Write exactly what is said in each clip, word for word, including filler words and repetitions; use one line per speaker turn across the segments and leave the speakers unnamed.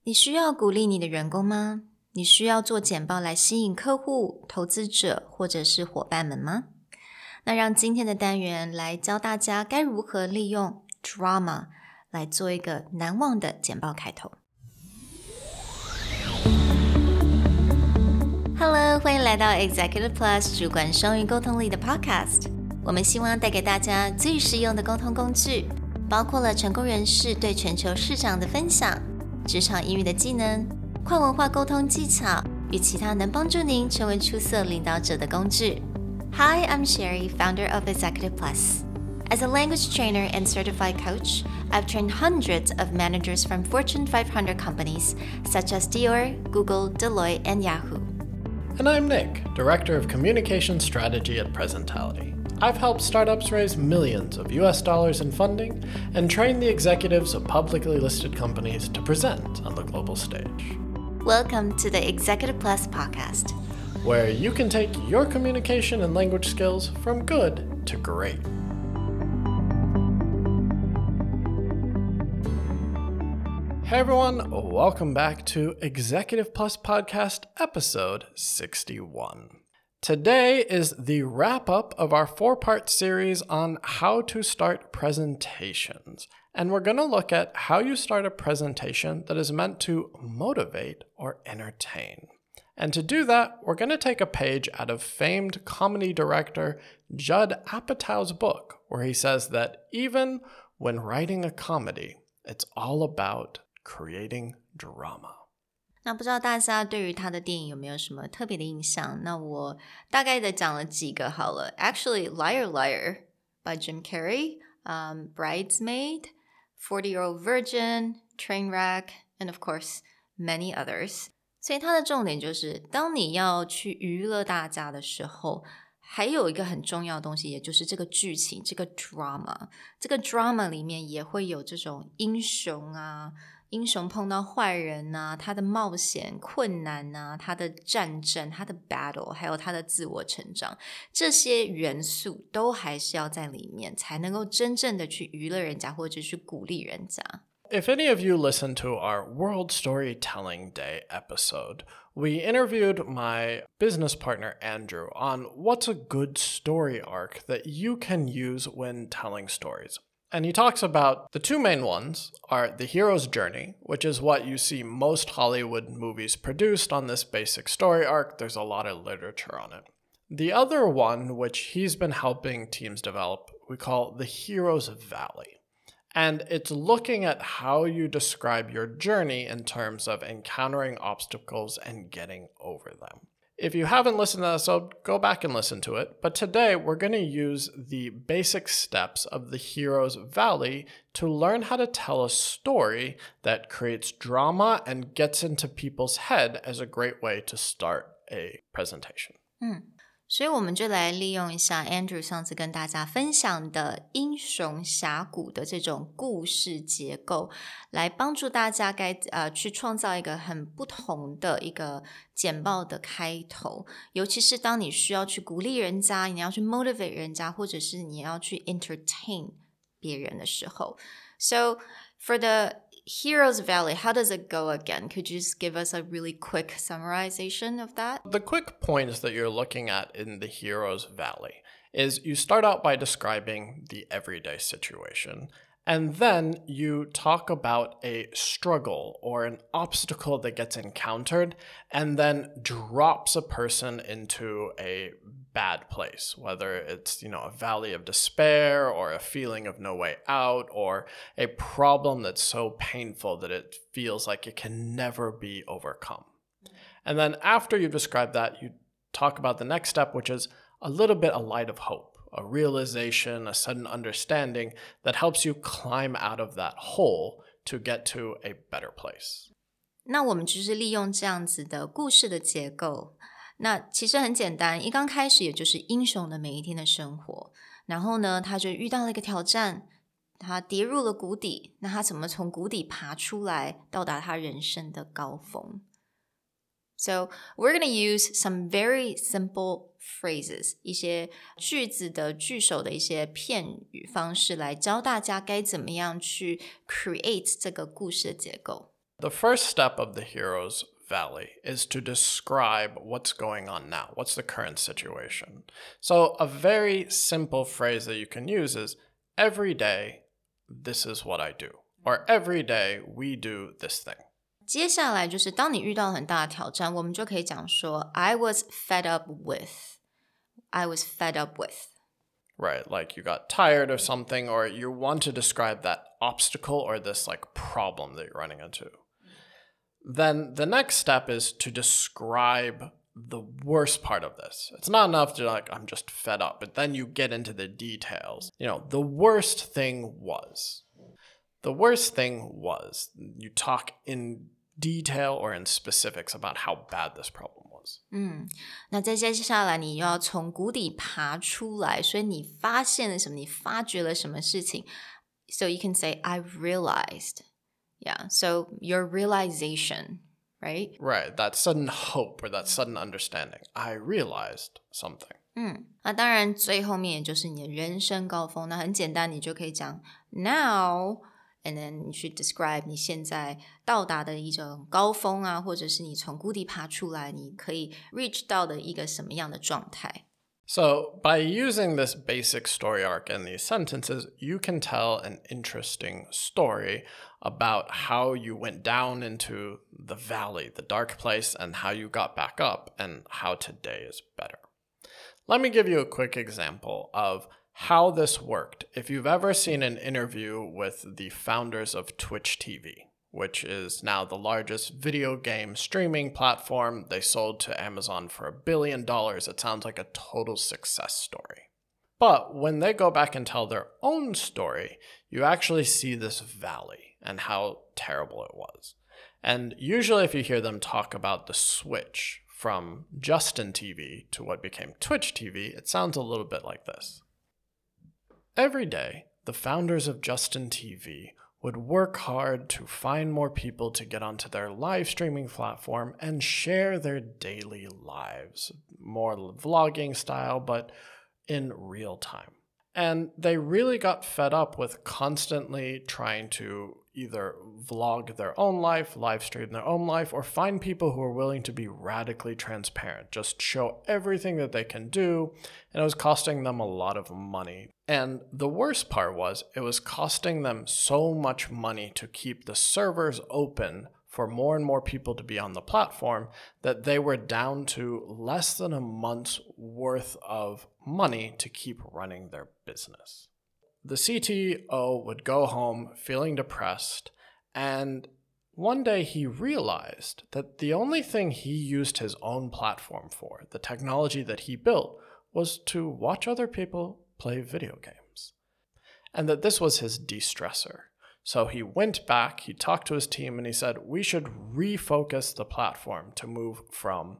你需要鼓勵你的員工嗎？你需要做簡報來吸引客戶、投資者或者是夥伴們嗎？那讓今天的單元來教大家該如何利用 drama 來做一個難忘的簡報開頭。Hello， 歡迎來到 Executive Plus 主管雙語溝通力的 Podcast。我們希望帶給大家最實用的溝通工具，包括了成功人士對全球市場的分享、職場英語的技能、跨文化溝通技巧與其他能幫助您成為出色領導者的工具。Hi, I'm Sherry, founder of Executive Plus. As a language trainer and certified coach, I've trained hundreds of managers from Fortune five hundred companies such as Dior, Google, Deloitte, and Yahoo.
And I'm Nick, Director of Communication Strategy at Presentality. I've helped startups raise millions of U S dollars in funding and train the executives of publicly listed companies to present on the global stage.
Welcome to the Executive Plus podcast,
where you can take your communication and language skills from good to great. Hey everyone, welcome back to Executive Plus Podcast episode sixty-one. Today is the wrap-up of our four-part series on how to start presentations. And we're going to look at how you start a presentation that is meant to motivate or entertain. And to do that, we're going to take a page out of famed comedy director Judd Apatow's book, where he says that even when writing a comedy, it's all about creating drama.
那不知道大家對於他的電影有沒有什麼特別的印象？那我大概的講了幾個好了。Actually, Liar Liar by Jim Carrey, um, Bridesmaid, forty-Year-Old Virgin, Trainwreck, and of course, many others. 所以它的重點就是，當你要去娛樂大家的時候，還有一個很重要的東西，也就是這個劇情，這個 drama。這個 drama 裡面也會有這種英雄啊。英雄碰到壞人啊，他的冒險困難啊，他的戰爭，他的 battle， 還有他的自我成長，這些元素都還是要在裡面，才能夠真正的去娛樂人家，或者去鼓勵人家。
If any of you listened to our World Storytelling Day episode, we interviewed my business partner Andrew on what's a good story arc that you can use when telling stories. And he talks about the two main ones are the hero's journey, which is what you see most Hollywood movies produced on this basic story arc. There's a lot of literature on it. The other one, which he's been helping teams develop, we call the hero's valley. And it's looking at how you describe your journey in terms of encountering obstacles and getting over them. If you haven't listened to that episode, go back and listen to it. But today, we're going to use the basic steps of the hero's valley to learn how to tell a story that creates drama and gets into people's head as a great way to start a presentation.
嗯，所以我們就來利用一下 Andrew 上次跟大家分享的英雄峽谷的這種故事結構，來幫助大家該呃去創造一個很不同的一個簡報的開頭，尤其是當你需要去鼓勵人家，你要去 motivate 人家，或者是你要去 entertain 別人的時候。So for the Hero's Valley, how does it go again? Could you just give us a really quick summarization of that?
The quick points that you're looking at in the Hero's Valley is you start out by describing the everyday situation. And then you talk about a struggle or an obstacle that gets encountered and then drops a person into a bad place, whether it's, you know, a valley of despair or a feeling of no way out or a problem that's so painful that it feels like it can never be overcome. And then after you describe that, you talk about the next step, which is a little bit a light of hope. A realization, a sudden understanding that helps you climb out of that hole to get to a better place.
那我們就是利用這樣子的故事的結構，那其實很簡單，一剛開始也就是英雄的每一天的生活，然後呢，他就遇到了一個挑戰，他跌入了谷底，那他怎麼從谷底爬出來，到達他人生的高峰？ So we're going to use some very simple phrases, 一些句子的句首的一些片語方式來教大家該怎麼樣去 create 這個故事的結構。
The first step of the hero's valley is to describe what's going on now. What's the current situation? So a very simple phrase that you can use is, every day, this is what I do. Or every day, we do this thing.
接下來就是當你遇到很大的挑戰，我們就可以講說 I was fed up with. I was fed up with.
Right, like you got tired of something, or you want to describe that obstacle or this like problem that you're running into. Then the next step is to describe the worst part of this. It's not enough to like, I'm just fed up, but then you get into the details. You know, the worst thing was. The worst thing was. You talk in detail or in specifics about how bad this problem was.
嗯，那再接下來你要從谷底爬出來，所以你發現了什麼？你發覺了什麼事情？ So you can say, I realized. Yeah, so your realization, right?
Right, that sudden hope or that sudden understanding. I realized something.
嗯，那當然最後面也就是你的人生高峰。那很簡單，你就可以講 now, and then 你去 describe 你現在到達的一種高峰啊，或者是你從谷底爬出來，你可以 reach 到的一個什麼樣的狀態。
So, by using this basic story arc in these sentences, you can tell an interesting story about how you went down into the valley, the dark place, and how you got back up, and how today is better. Let me give you a quick example of how this worked. If you've ever seen an interview with the founders of Twitch T V, which is now the largest video game streaming platform. They sold to Amazon for a billion dollars. It sounds like a total success story. But when they go back and tell their own story, you actually see this valley and how terrible it was. And usually if you hear them talk about the switch from Justin T V to what became Twitch T V, it sounds a little bit like this. Every day, the founders of Justin T V would work hard to find more people to get onto their live streaming platform and share their daily lives, more vlogging style, but in real time. And they really got fed up with constantly trying to either vlog their own life, live stream their own life, or find people who are willing to be radically transparent, just show everything that they can do, and it was costing them a lot of money. And the worst part was, it was costing them so much money to keep the servers open for more and more people to be on the platform that they were down to less than a month's worth of money to keep running their business. The C T O would go home feeling depressed, and one day he realized that the only thing he used his own platform for, the technology that he built, was to watch other people play video games. And that this was his de-stressor. So he went back, he talked to his team, and he said, we should refocus the platform to move from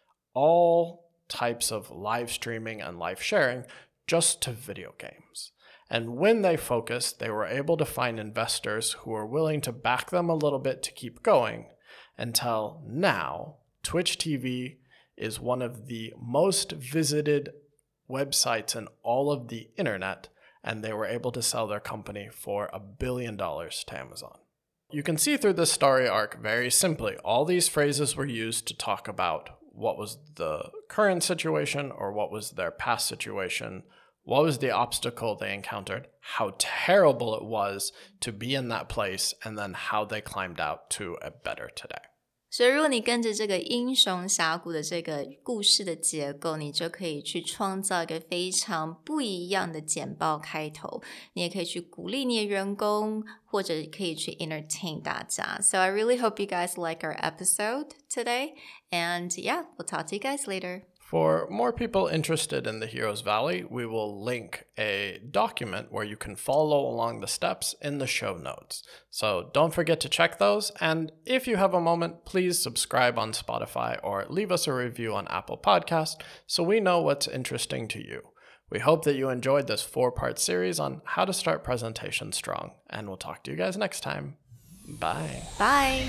all types of live streaming and live sharing just to video games. And when they focused, they were able to find investors who were willing to back them a little bit to keep going, until now, Twitch T V is one of the most visited websites in all of the internet, and they were able to sell their company for a billion dollars to Amazon. You can see through this story arc very simply, all these phrases were used to talk about what was the current situation or what was their past situation, what was the obstacle they encountered, how terrible it was to be in that place, and then how they climbed out to a better today.
所以如果你跟着這個英雄峽谷的這個故事的結構，你就可以去創造一個非常不一樣的簡報開頭。你也可以去鼓勵你的員工，或者可以去 entertain 大家。So I really hope you guys like our episode today. And yeah, we'll talk to you guys later.
For more people interested in the Heroes Valley, we will link a document where you can follow along the steps in the show notes. So don't forget to check those. And if you have a moment, please subscribe on Spotify or leave us a review on Apple Podcasts so we know what's interesting to you. We hope that you enjoyed this four-part series on how to start presentations strong. And we'll talk to you guys next time. Bye.
Bye.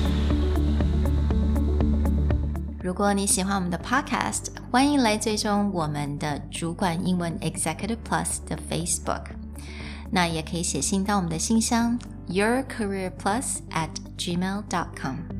如果你喜歡我們的 podcast， 歡迎來追蹤我們的主管英文 Executive Plus 的 Facebook。那也可以寫信到我們的信箱 yourcareerplus at gmail dot com.